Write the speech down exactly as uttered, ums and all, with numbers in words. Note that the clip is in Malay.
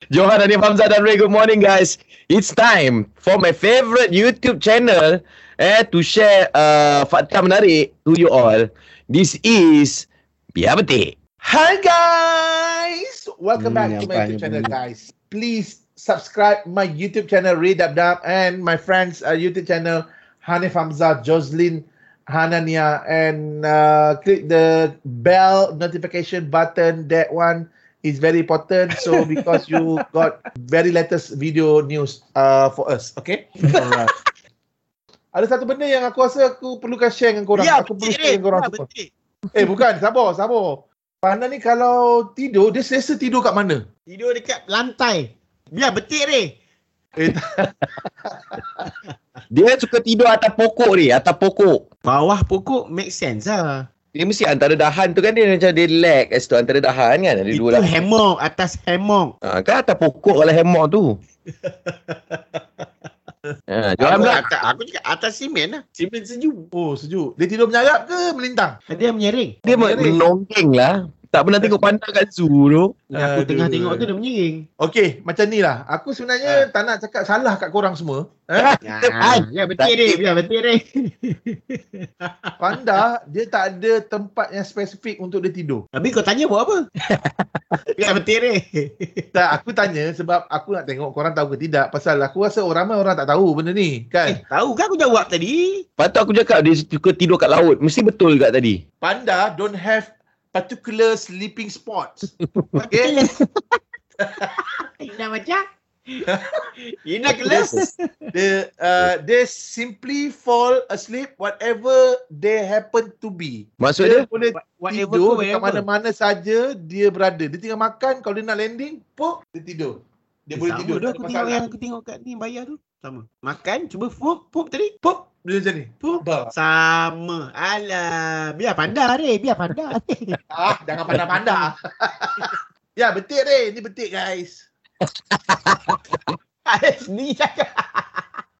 Johan, Hanif Hamzah dan Ray, good morning guys. It's time for my favorite YouTube channel eh, to share uh, fakta menarik to you all. This is Biar Betik. Hi guys! Welcome Hmm, back to yang my YouTube paling channel penting. guys. Please subscribe my YouTube channel Ray Dab Dab and my friends uh, YouTube channel Hanif Hamzah, Jocelyn Hanania, and uh, click the bell notification button. That one is very important. So because you got very latest video news uh, for us, okay? Alright. Ada satu benda yang aku rasa aku perlukan share dengan korang. Ya, aku perlu betul, share dengan korang ya, semua. betul. Eh bukan, sabar, sabar. Panda ni kalau tidur, dia selesa tidur kat mana? Tidur dekat lantai. Biar betik ni. Eh, Dia suka tidur atas pokok ni, atas pokok. Bawah pokok make sense lah. Dia mesti antara dahan tu kan dia macam dia lag kat situ antara dahan kan. Ada Itu dua dahan. hammock, atas hammock. Ha, kan atas pokok kalau hammock tu. Ha, Johan Aku, pula. atas, aku cakap atas simen lah. Simen sejuk. oh sejuk. Dia tidur menyarap ke melintang? Dia menyering. Dia Menyering. menonggeng lah. Tak pernah tengok panda kat zoo tu. Aku Aduh. tengah tengok tu dia menyering. Okey, macam ni lah. Aku sebenarnya tak nak cakap salah kat korang semua. Eh? Ya, ya betik ni. Biar betik ni. Panda, dia tak ada tempat yang spesifik untuk dia tidur. Habis kau tanya buat apa? Biar betik ni. Tak, aku tanya sebab aku nak tengok korang tahu ke tidak. Pasal aku rasa orang ramai orang tak tahu benda ni. Eh, Kan? tahu kan aku jawab tadi? Patut aku cakap dia suka tidur kat laut. Mesti betul juga tadi. Panda don't have particular sleeping spots. Okay? Ina macam? Ina kelas? They, uh, they simply fall asleep whatever they happen to be. Maksud Dia dia? boleh Whatever tidur tu, dekat whatever. mana-mana saja dia berada. Dia tinggal makan, kalau dia nak landing, pop, dia tidur. Dia boleh Sama tidur. tu tak aku ada tengok masalah. yang aku tengok kat ni bayar tu. Sama. Makan, cuba pup, pup tadi. Pup. Dia macam ni. Pup. Bah. Sama. Alah. Biar pandai ni. Biar pandai. Ah, jangan pandang-pandang. Ya, betik deh. Ini betik guys. Ada sendiri cakap.